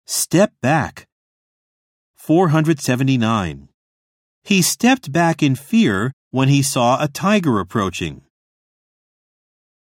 Step back. 479. He stepped back in fear when he saw a tiger approaching.